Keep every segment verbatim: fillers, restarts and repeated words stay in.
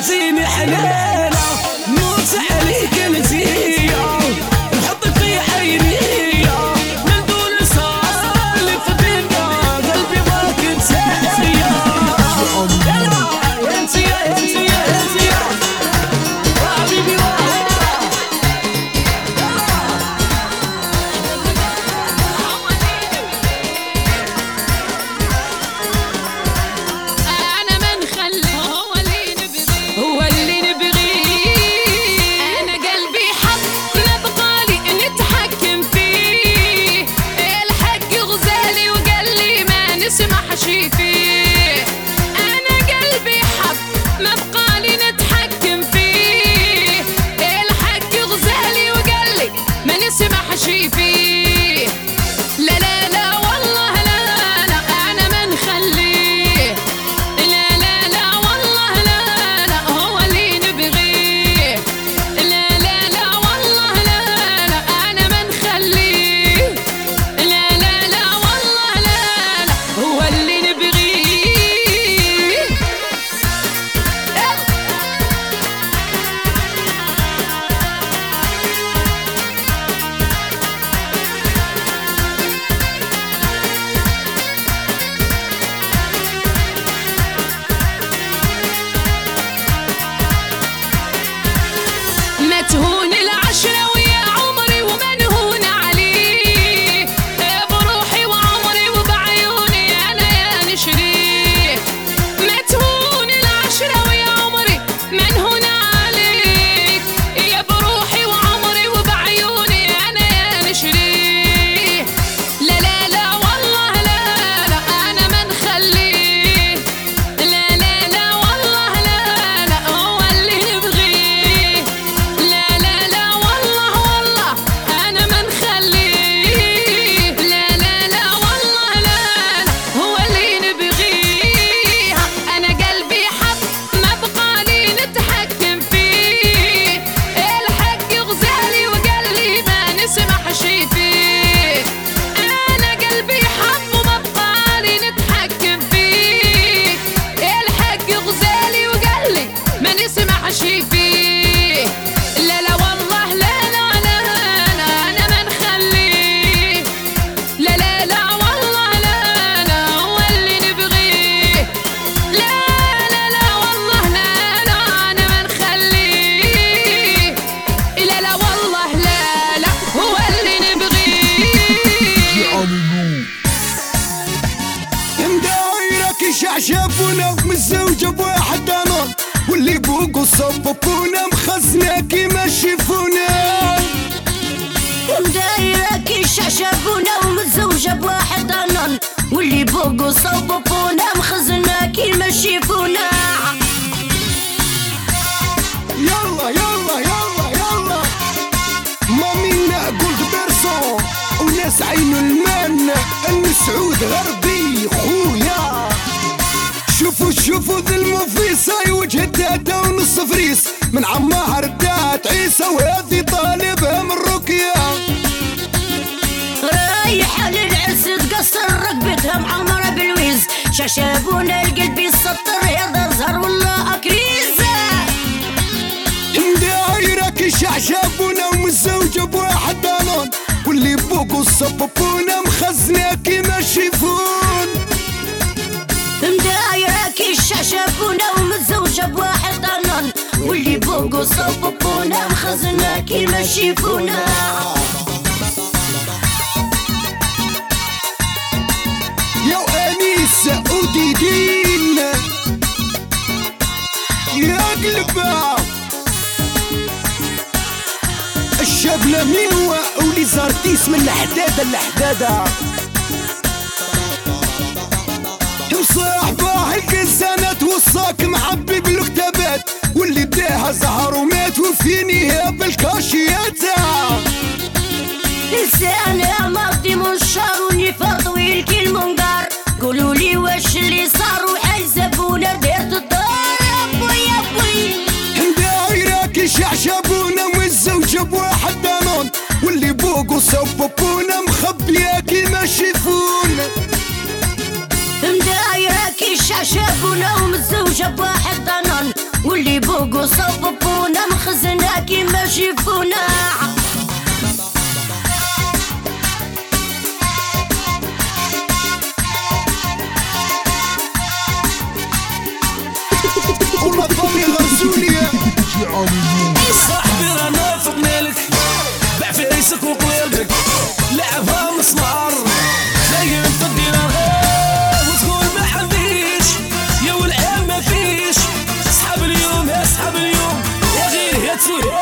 طلعتيني حليلة موت عليك انتيا نحطك في عيني من دون سالف بينا قلبي ضاك انتيا انتيا انتيا انتيا حبيبي شافونا متزوجة بواحد انا واللي بوقو صببونا مخزنة كيما شيفونا مدايرة كي شافونا ومتزوجة بواحد انا واللي بوقو صببونا مخزنة كيما شيفونا يلا يلا يلا يلا مامينا قلت بيرسون وناس عينو المان السعود غربي خويا شوفوا شوفوا ذا المفيسة وجه الداتا ونص فريس من عمها ردات عيسى وهذه طالبها من رقية رايحة للعرس تقصر ركبتها معمرة بالويز شاشابونا القلب يسطر يا زهر والله أكريزة دايرة كي شعشابونا ومتزوجة بواحد دانون واللي بوقو صببونا مخزنة كيما شيفون مدايرة كي شافونا ومتزوجة بواحد ضنان واللي بوقو صببونا مخزنة كيما شيفونا يا أنيس وديدين يا قلبا الشبلة ميوة ولي زارتيس من الحدادة لحدادة وصاحبه الكزانات وصاك معبي بالكتابات واللي داها زهر ومات وفينيها بالكاشيات لسانها ماضي منشار ونفاق طويل كي المنقار قولولي واش اللي صار وحيزبونا ديرت الدار يا بوي يا بوي دايرة كي شعشبونا متزوجة بواحد دانون واللي بوقو صببونا مخبية كيما شيفون مدايرة كي شافونا ومتزوجة بواحد ضنان واللي بو سوريا. صاحبي رانا فقنا لك، باع في عيسك وقلبك، لعبها مسمار زين في الدينار وتقول ما عنديش يا والعيال ما فيش. اصحاب اليوم يا اصحاب اليوم يا غير يا تسوي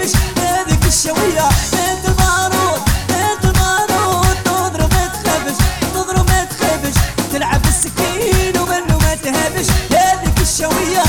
تهبش هذيك الشوية بنت البارود بنت البارود تضرب ما تخبش تضرب ما تخبش تلعب بالسكين ومنه ما تهبش هذيك الشوية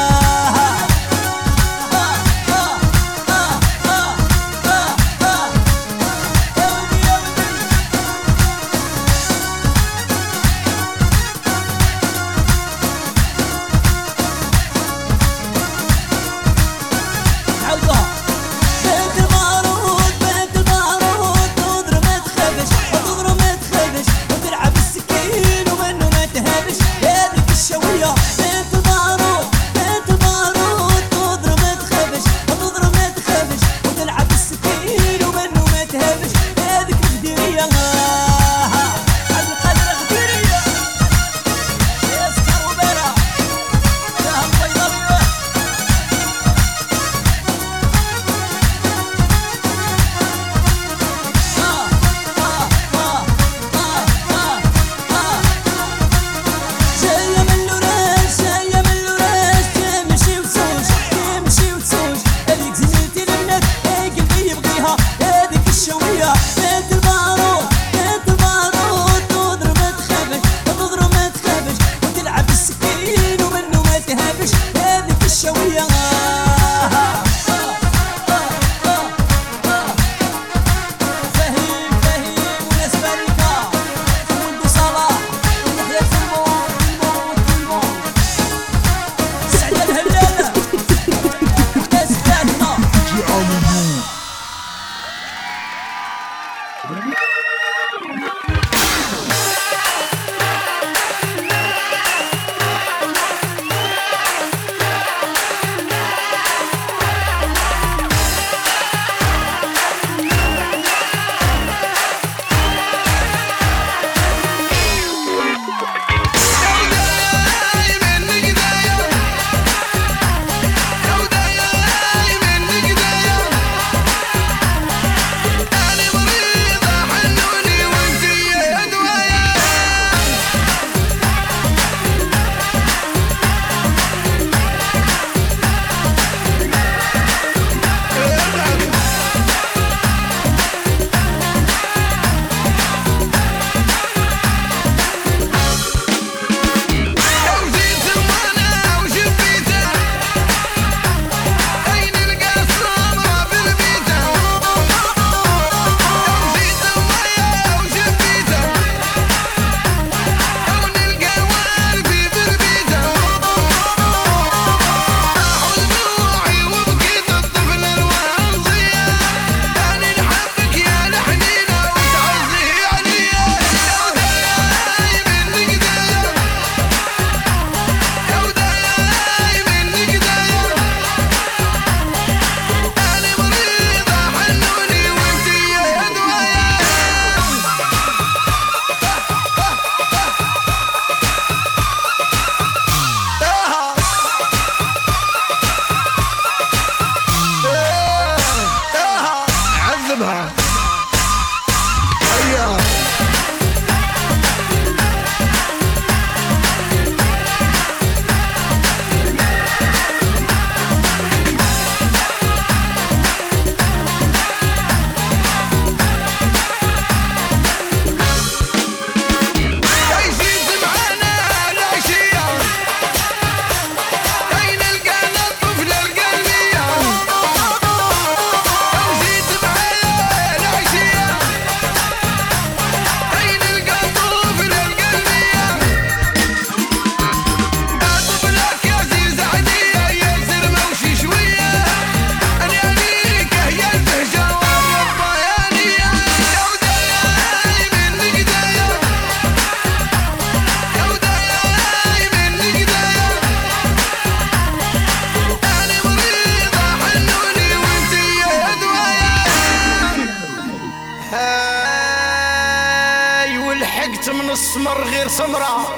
السمر غير سمرة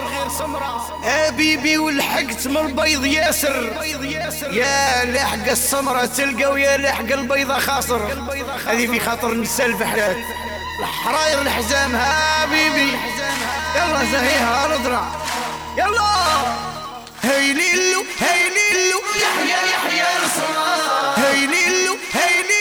حبيبي ولحقت من البيض ياسر يا لحق السمرة تلقى ويا لحق البيضة خاصر. هذه في خاطر النساء الفحلات الحراير الحزام حبيبي. يلا زهيها نضرع يلا هيليلو هيليلو يحيى يحيى الصلاة هيليلو هيليلو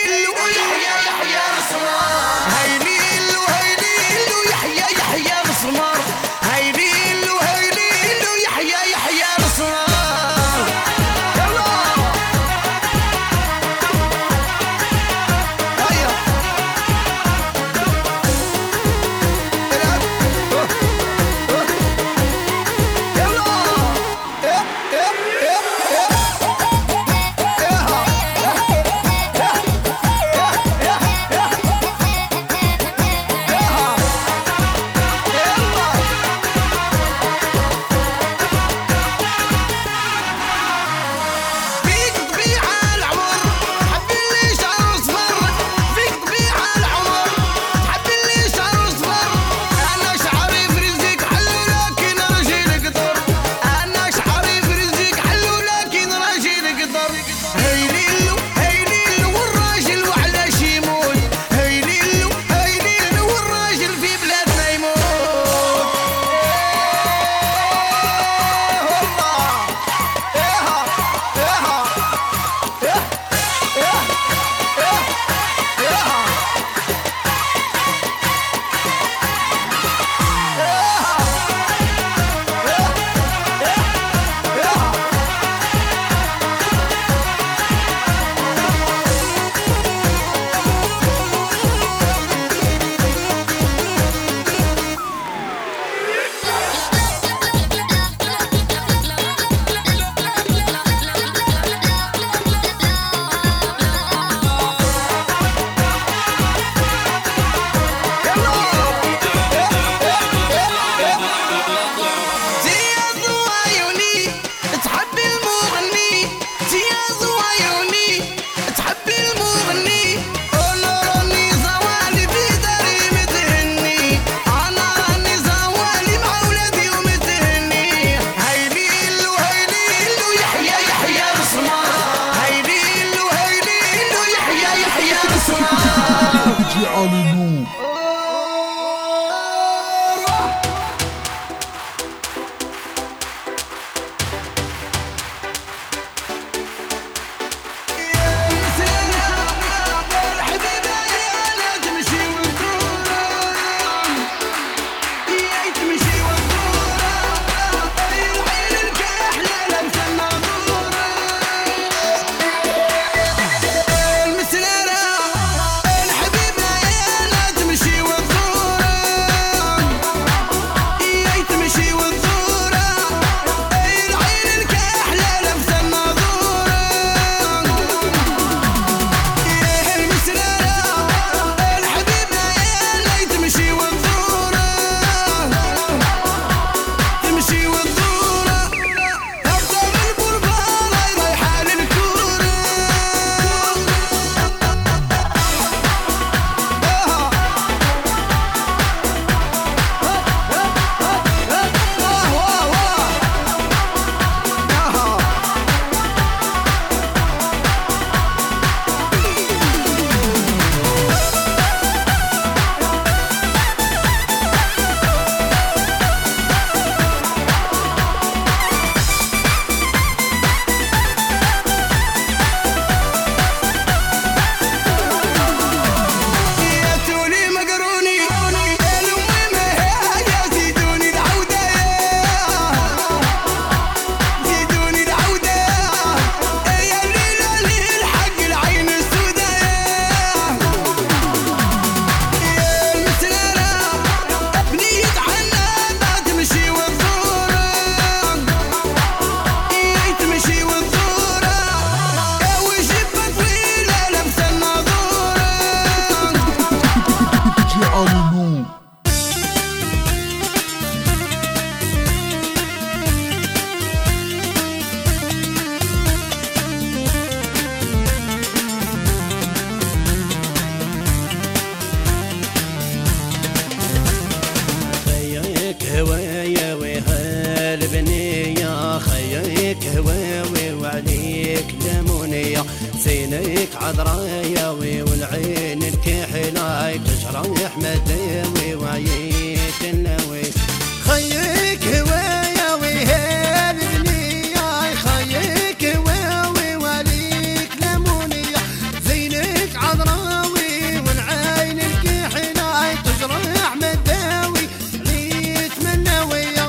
هواياوي والعين الكحلاي تجرح مداوي وعيت النوي خيك هواياوي هالبنية خيك هواوي وليك لمونية زينك عذراوي والعين الكحلاي تجرح مداوي عيت من نوية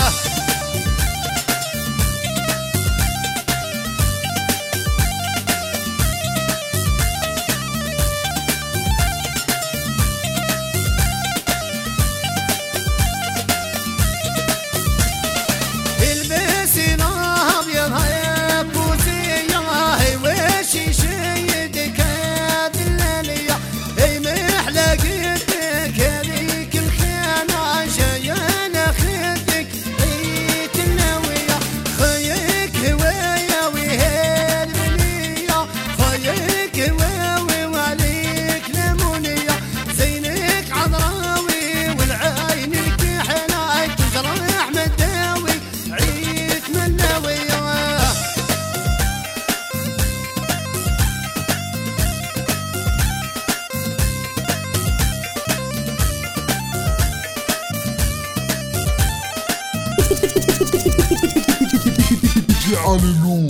Hallelujah.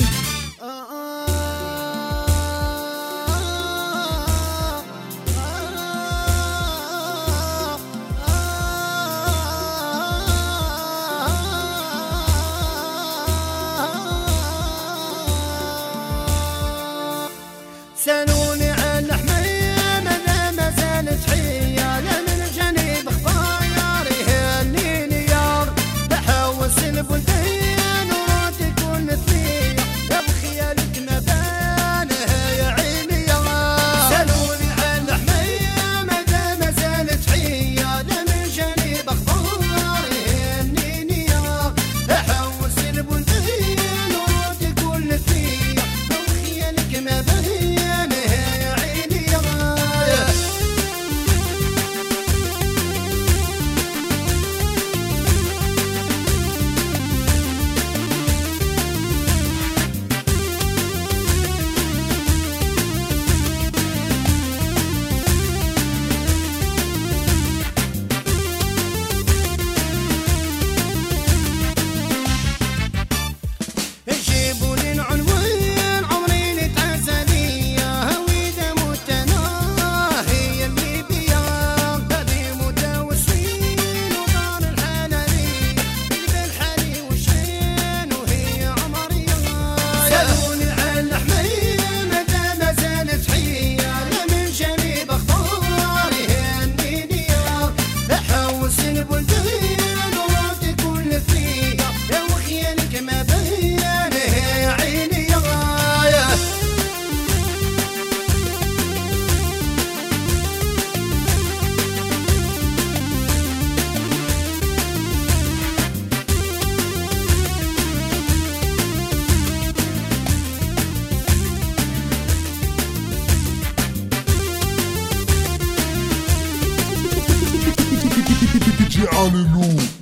سألوني عن حمية ماذا ما زالت حية لا من جانب خفايا يهنيني يار بحوس البلدان وراتي تكون مثلية يا بخيالك ما بانها يا عيني يار سألوني عن حمية ماذا ما زالت حية لا من جانب خفايا يهنيني يار بحوس البلدان وراتي تكون مثلية يا بخيالك ما بانها Hallelujah.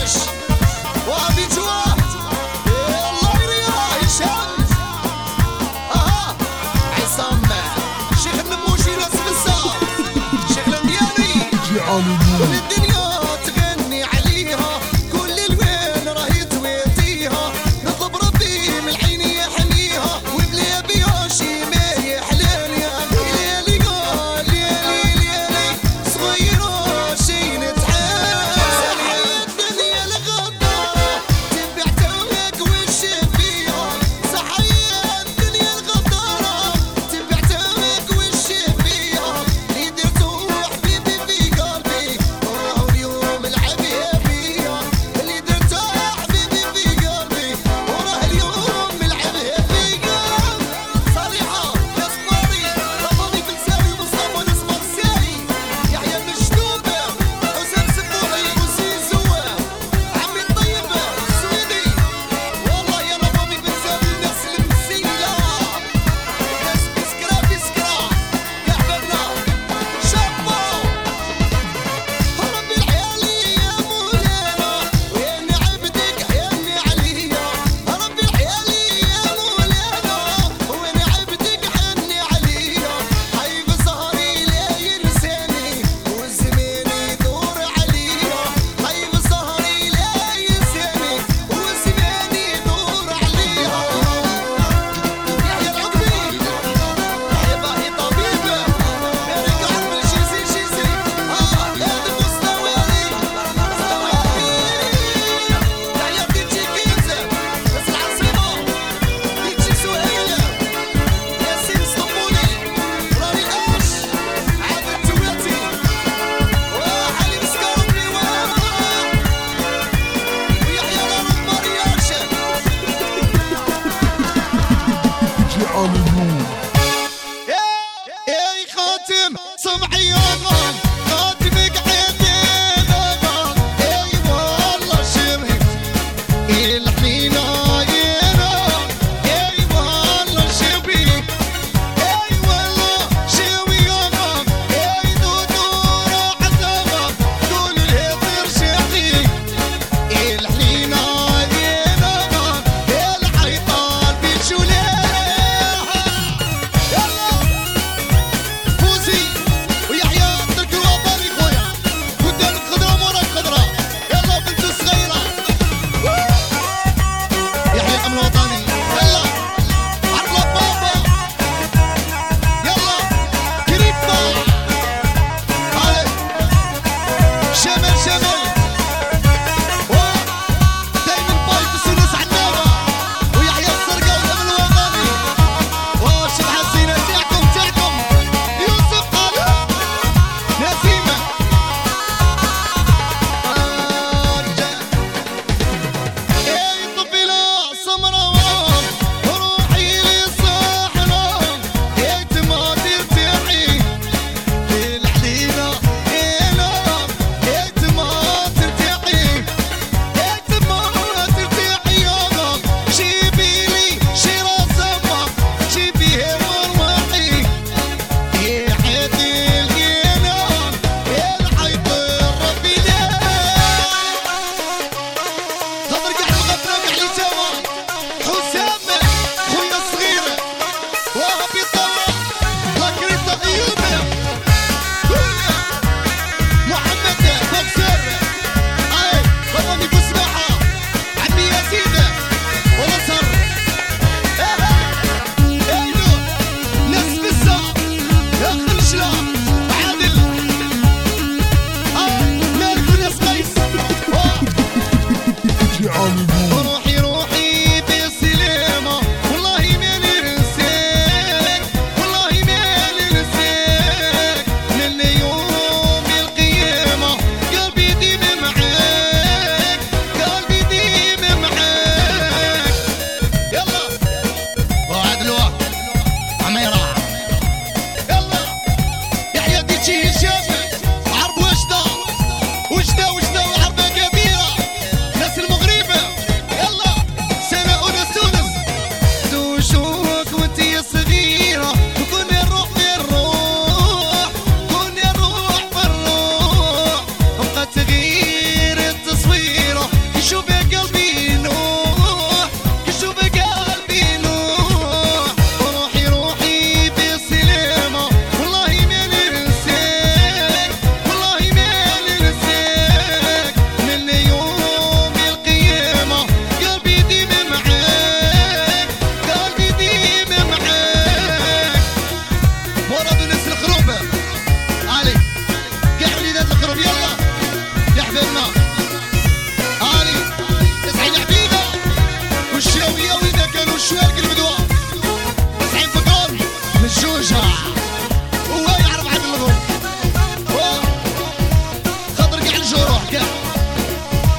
الدراش وابي جواه الله يريح هشام اها عصام شيخ النموشي راس بزاف شيخ الاندياني كل الدنيا تغني عليها كل الوين راهي تويتيها نطلب ربي من العين يحميها وبلا بيها شي ما يحلال يا ليلي قال ليلي ليلي صغيرة شي نتعال صحي الدنيا الغدارة تبع توك وش فيها صحي الدنيا الغدارة تبع توك وش فيها اللي درتو حبيبي في قلبي والله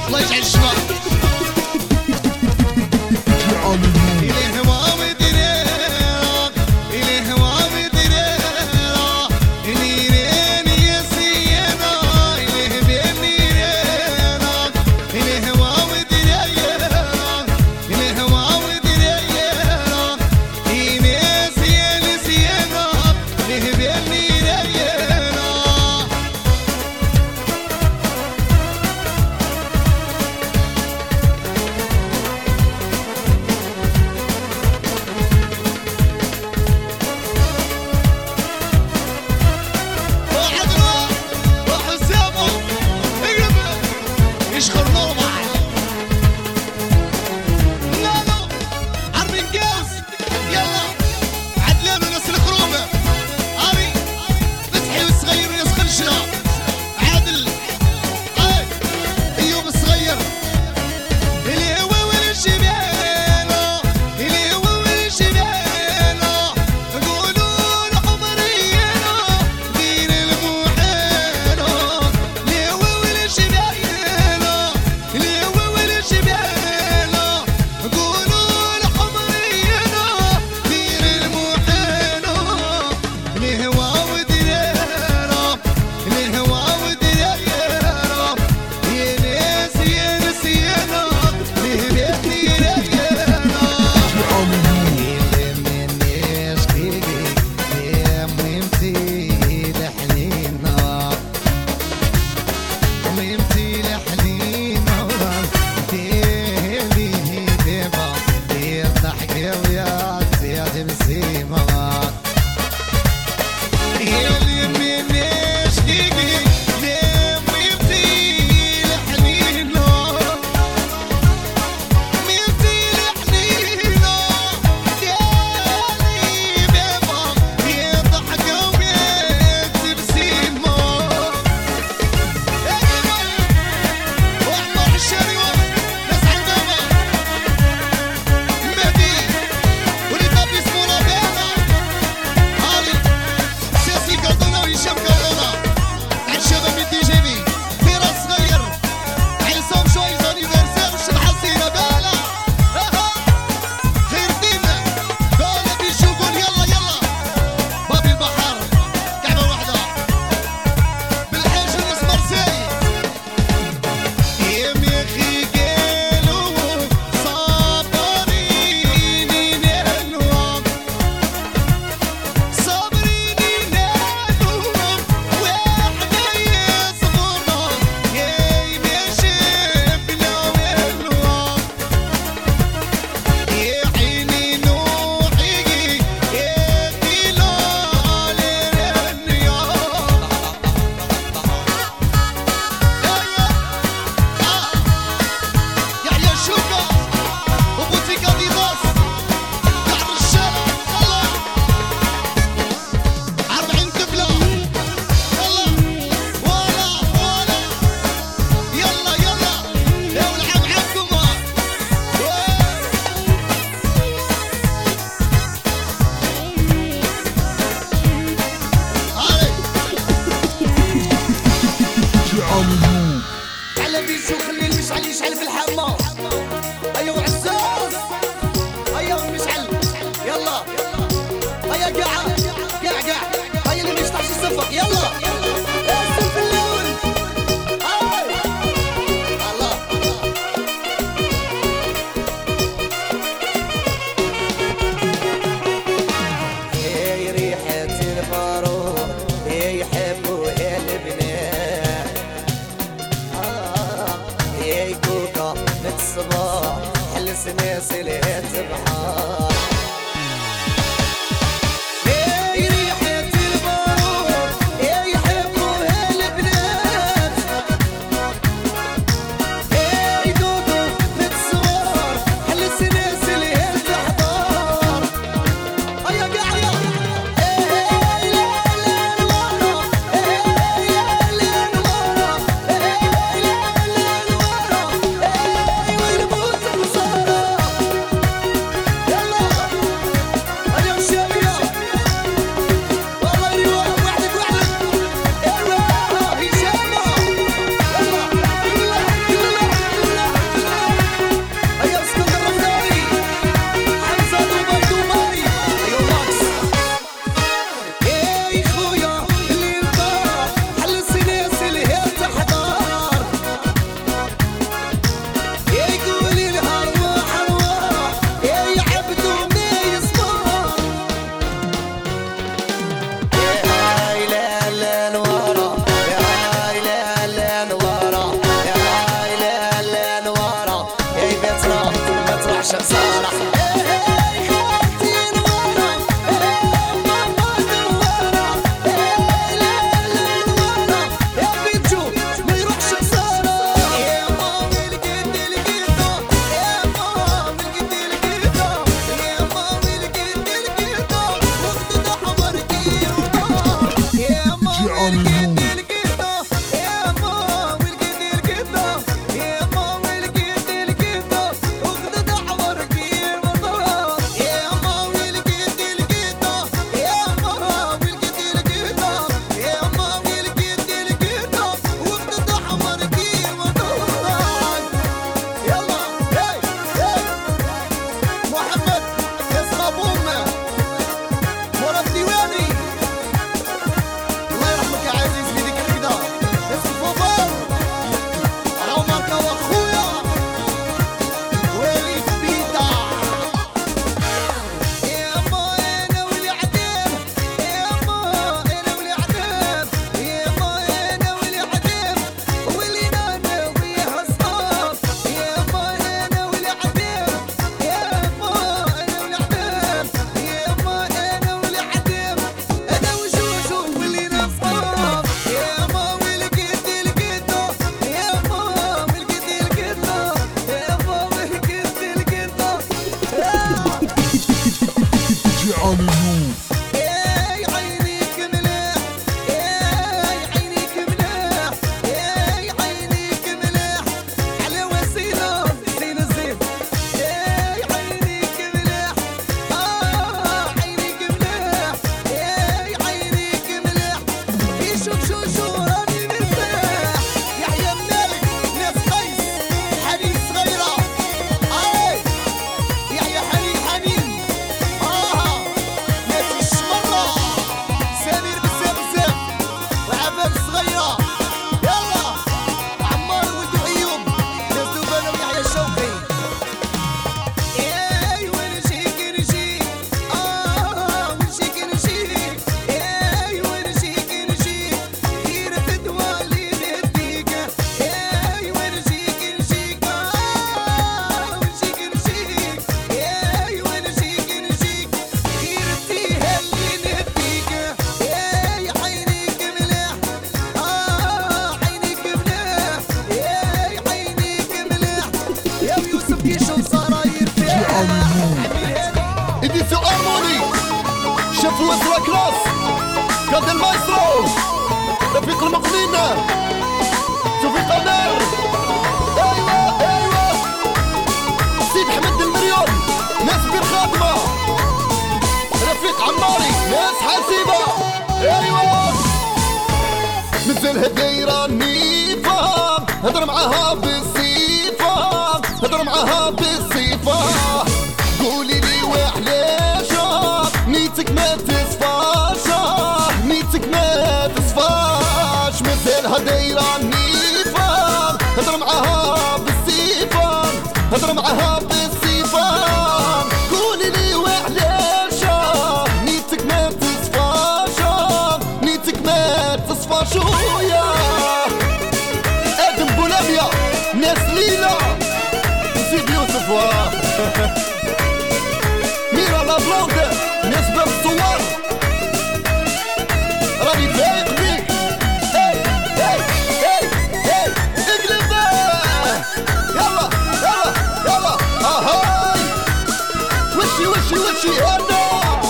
الله يجعل الشباب إليه هوا ودريرة إليه هوا ودريرة نيرين يا سيدة إليه بين نيرينا إليه هوا ودريرة إليه هوا ودريرة إيمي سيدة سيدة إليه بين نيرينا على بيشو خلي المشعل يشعل في الحمام. ايوا عزاز ايوا المشعل يلا هيا قاع قاع قاع هيا اللي ما يشطحش الصفق يلا الصف الاول هاي الله هي ريحة البارود هي يحبوا البنات هي كوكا الصباح حل سناسل البحار يلا علي نور. إديسيون أرموني شيف وزرا كلاس كاد المايسترو رفيق المقنين توفيق النار. أيوة أيوة سيد حمد المليون ناس بير خادمة رفيق عماري ناس حاسبة. أيوة مازالها دايرة نيفة هدر معاها بالصيفة هدر معاها بالصيفة. قولي لي وعلاشا نيتك ما تصفاش نيتك ما تصفاش. مازالها دايرة نيفة هدر معاها بالصيفة هدر معاها بالصيفة. قولي لي وعلاشا نيتك ما تصفاش نيتك ما تصفاش. ويا ادم بولاميا ناس ليلى سيد يوسف واه ميرا لا بلوند ناس باب الصور راني فايق بيك. هاي هاي هاي هاي اقلب يلا يلا يلا اهاي وشي وشي وشي هنا.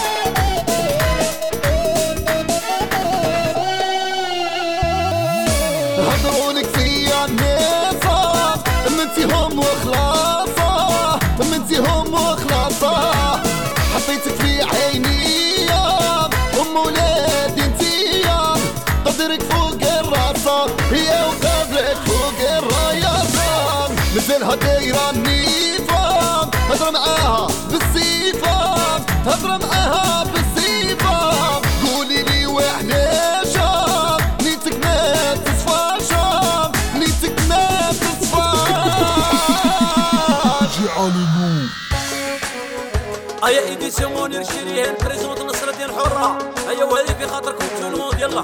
هضرولك فيا الناس منتيهم وخلاصة منتيهم وخلاصة. حطيتك في عيني ام ولادي انتيا قدرك فوق الراسة هي وقدرك فوق الراياسة. مازالها دايرة نيفة هضر معاها بالصيفة هضر معاها بالصيفة. قولي لي وعلاشا نيتك ما تصفاش نيتك ما تصفاش. علي نور. هيا ايدي سموني نشريها بريزونت نصر الدين حرة. هيا وهذه في خاطركم تونمود يلا.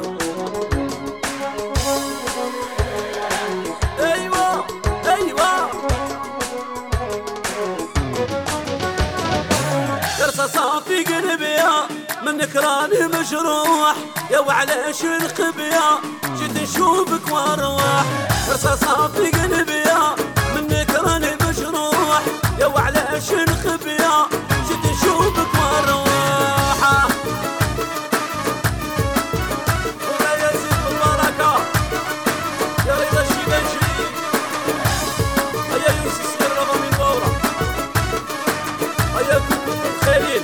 ايوه ايوه رصاصة في قلبي منك راني مجروح يا وعلاش نخبيا جيت نشوفك واروح. رصاصة في قلبي منك راني مجروح يا وعلاش نخبيا جيت نشوفك واروح. ويا زيد البركة يا رضا الشباشي هيا يوسف سير رضا من بورا هيا خليل.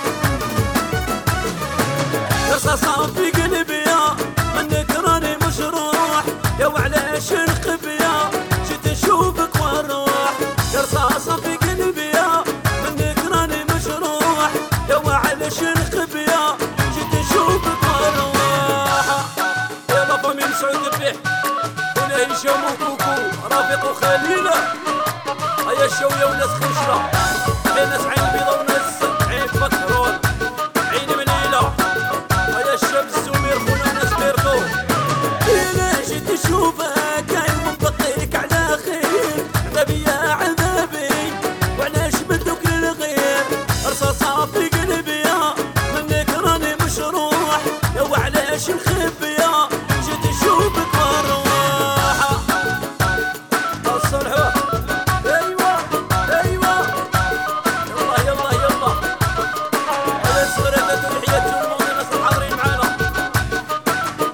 رصاصة في قلبي منك راني مجروح يا وعلاش نخبيا جيت نشوفك واروح. رصاصة في قلبي منك راني مجروح يا وعلاش نخبيا جيت نشوفك واروح. يلا فامي مسعود الريح ولا هشام وكوكو رافق وخليلة. هيا الشوية وناس خشرة بين ناس عين بيضا وناس عين بكرون عين مليلة. هيا الشاب السمير خونا ناس بيركو. إلا جيت نشوفك عين مبقيك على خير عذابي يا عذابي وعلاش بدوك للغير. رصاصة في قلبي منك راني مشروح يا وعلاش نخبيا جيت نشوفك واروح. الصلحة ايوه ايوه يلا يلا يلا. هذا الصغيرات تحيات الموت الناس الحاضرين معانا.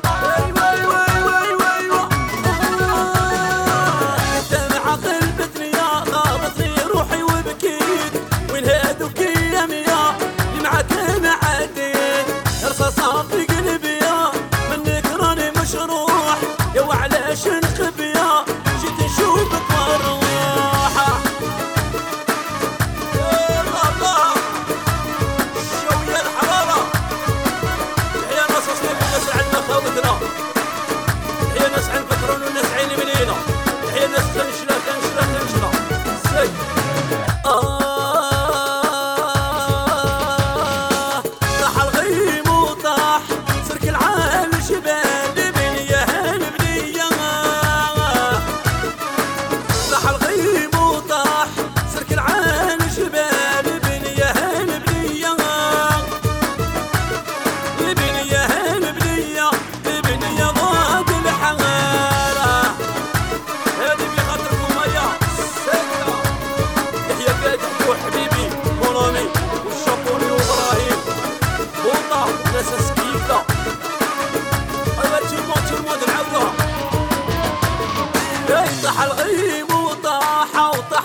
ايوه ايوه ايوه ايوه ايوه انت مع قلبتني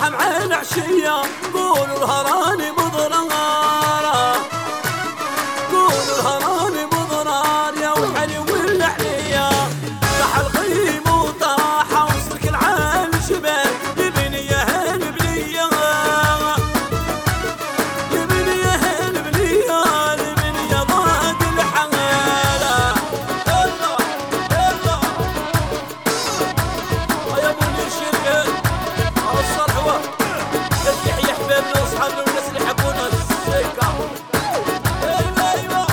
فرحة مع العشية قولوا الهراني مضرار قولوا الهراني مضرار يا وحلي والحلية راح الغيم وطاحة وصلك العال شباب لبني يا هالبنية لبني يا هالبنية لبني يا ضاد الحمالة يلا يلا يا ابو الشركة الصرحوة يحيى حبابنا واصحابنا والناس اللي يحبونا السيكة ايوه ايوه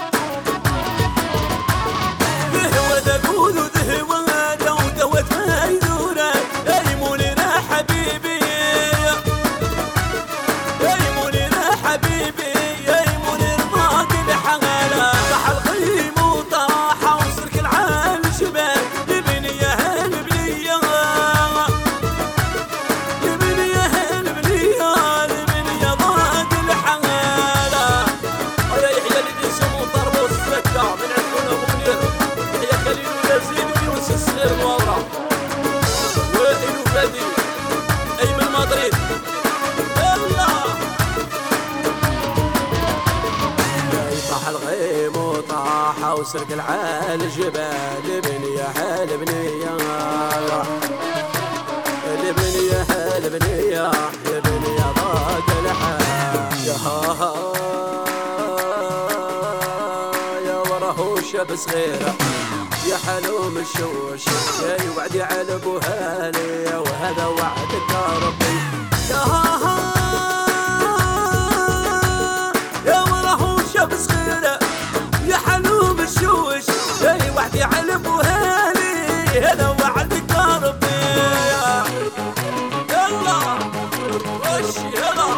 ذهوة ذاكود وذهوة هذا ودوت مايدورة ايمونينا حبيبي ايمونينا حبيبي ايموني رضاك الحغالة راح الغيم وطاحة وصرك العال شباب لبني يا هالبنية لبني يا هالبنية لبني يا ضاد الحغالة يا يحيى اللي بيسمو طربوس السكة من عندنا ابو منير يحيى خليل وياسين ويونس الصغير الواضرة وائل وفادي ايمن مدريد يلا يطاح الغيم وطاحة وسرق العال جبال لبني يا هالبنية لبني يا هالبنية لبني يا ضاد الحال يا ها يا وراه شاب صغيرة يا حلوم الشوش يا وعدي على ابو هالي وهذا وعدك يا ربي يا ها يا وراه شاب صغيرة يا حلوم الشوش يا وعدي على ابو هالي هذا وعدك يا ربي يلا وش يلا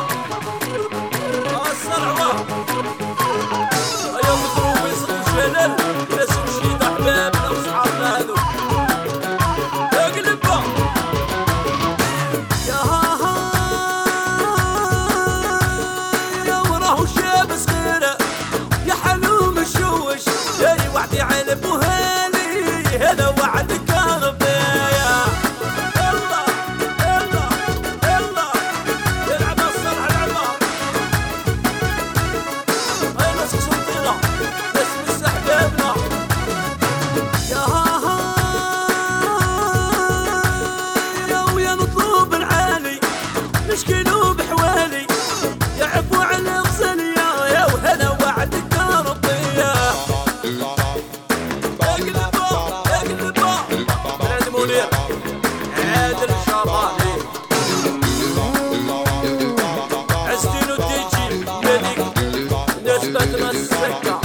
الصرعوة يا مضروب يصير شلل ناس مشيت احبابنا واصحابنا هذو اقلبها يا ها يا وراه شاب صغيرة يا حلوم الشوش يا وعدي على ابو هالي هذا وعدك يا ربي يلا يلا يلا يلعب الصرع العبا هاي ناس صوتنا ناس مس احبابنا يا ها يا ويا نطلب العالي نشكلوا بحوالي يا عفو على غزالية يا وهلا وعدك يا ربي اقلبها اقلبها من عند منير عادل شراني عزتين وتيجي ملك نسبة السكة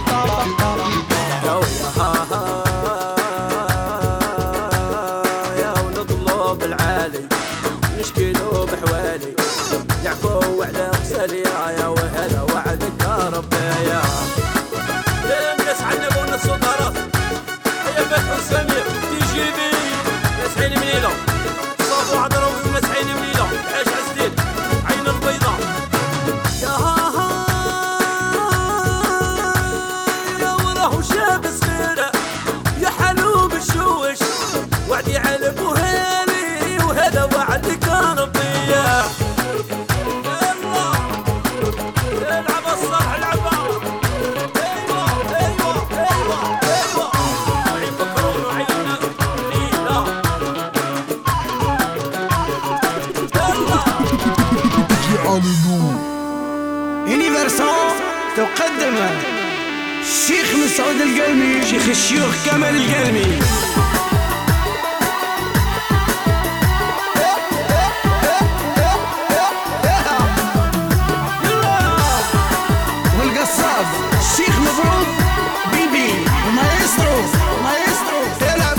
يا ويا ها ها يا ونطلب العالي نشكلوا بحوالي يعفو على غزالية يا وهلا وعدك يا ربي يا الناس عنبوا الناس صدارات يا فتح وسمير تيجي بي ناس عين منيلة صافو عذرا وناس عين منيلة الحاج عزدين عين البيضة يا ها ها يا وراه شاب صغيرة يا حلوم الشوش وعدي على ابو هالي وهذا وعدك يا ربي يلا العب الصرح العبا ايوه ايوه ايوه ايوه عين بكرون وعين ليلى يونيفرسال تقدم الشيخ مسعود القلمي شيخ الشيوخ كمال القلمي والقصاب الشيخ مبروك بيبي ومايسترو مايسترو يلعب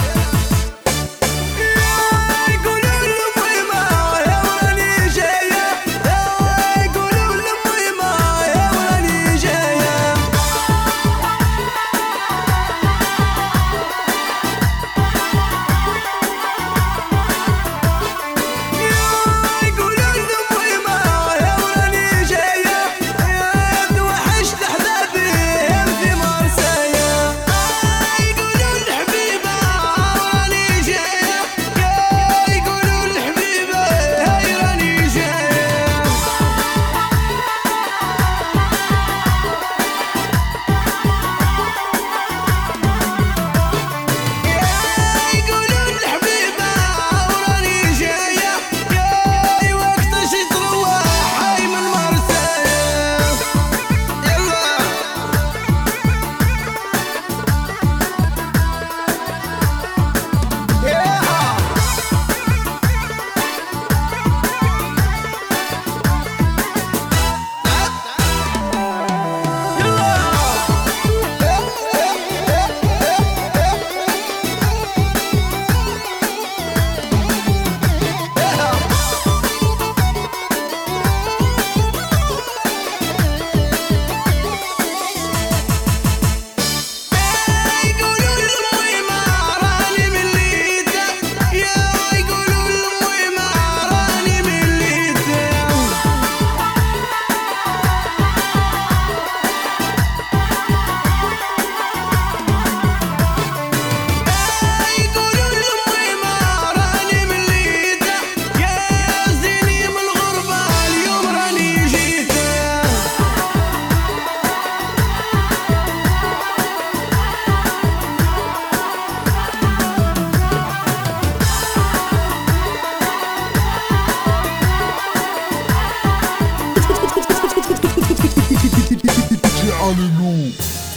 يقولوا للميمة يا ولي جاية يقولوا للميمة يا ولي جاية دي جي علي.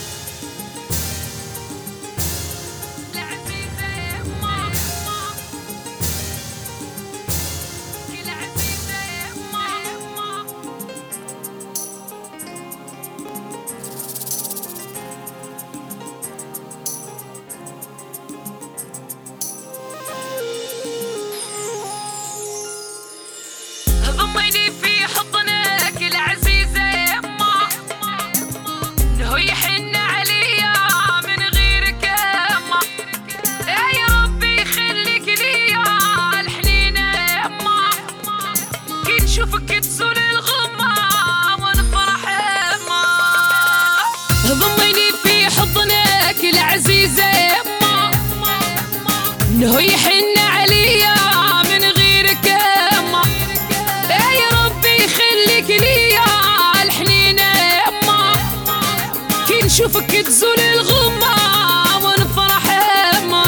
ضميني في حضنك العزيزة يما، انه يحن عليا من غيرك يما، يا ربي يخليك ليا الحنينة يما، كي نشوفك تزول الغمة ونفرح يما. ضميني في حضنك العزيزة يما، انه يحن عليا من غيرك يما، يا ربي يخليك ليا الحنينة يما، كي نشوفك تزول الغمة ونفرح يما.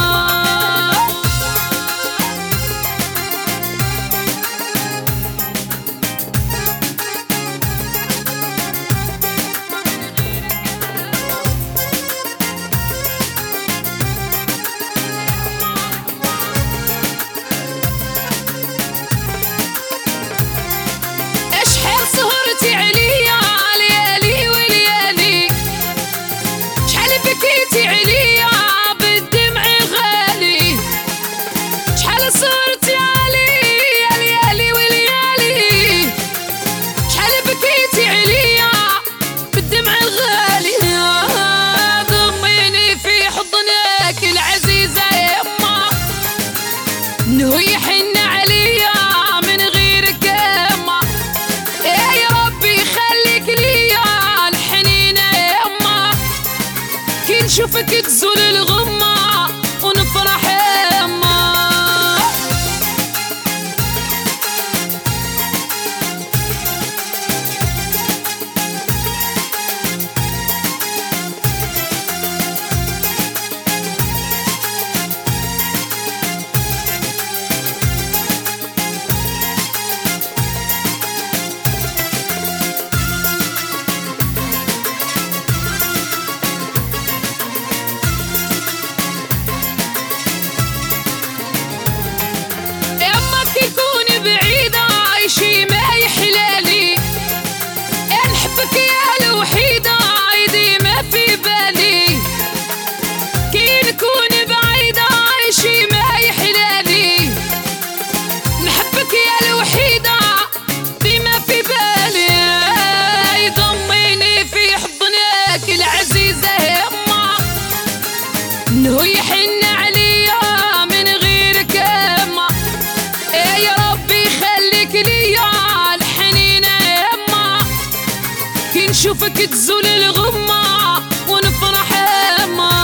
اشحال سهرتي عليا ليالي وليالي، شحال بكيتي عليا بالدمع غالي، شحال سهرتي عليا ليالي وليالي، شحال بكيتي عليا بالدمع الغالي. ضميني في حضنك العزيزة يما، انه يحن عليا من غيرك يما، يا ربي يخليك ليا الحنينة يما، كي نشوفك تزول الغمة ونفرح يما. يما كي تكوني بعيدة عايشي ما يحلالي، نحبك يا الوحيدة ديما في بالي، كي نكون بعيدة عايشي ما يحلالي، نحبك يا الوحيدة ديما في بالي. ضميني في حضنك العزيزة يما، انه يحن عليا من غيرك يما، يا ربي يخليك ليا الحنينة يما، كي نشوفك تزول الغمة ونفرح يما.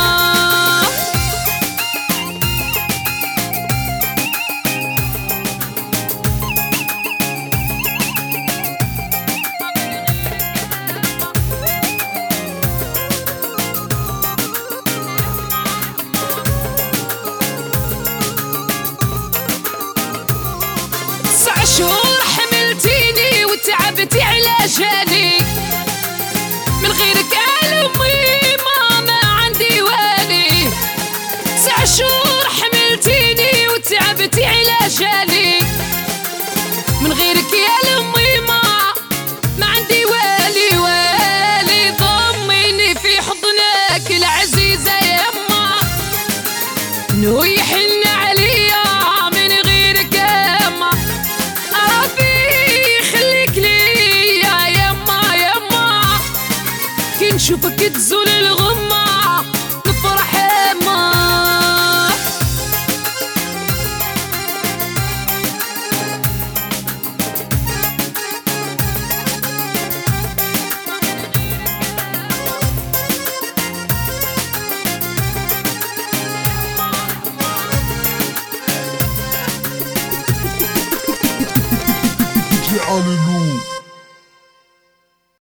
تسع شهور حملتيني وتعبتي على جالي، من غيرك ألمي ما ما عندي والي. تسع شهور حملتيني وتعبتي على جالي، من غيرك يا لمي ما ما عندي والي والي. ضميني في حضنك العزيزة يما، انه يحن عليا من غيرك يما، ربي يخليك ليا يما يما، كي نشوفك تزول الغمة نفرح يما. دي جي علي.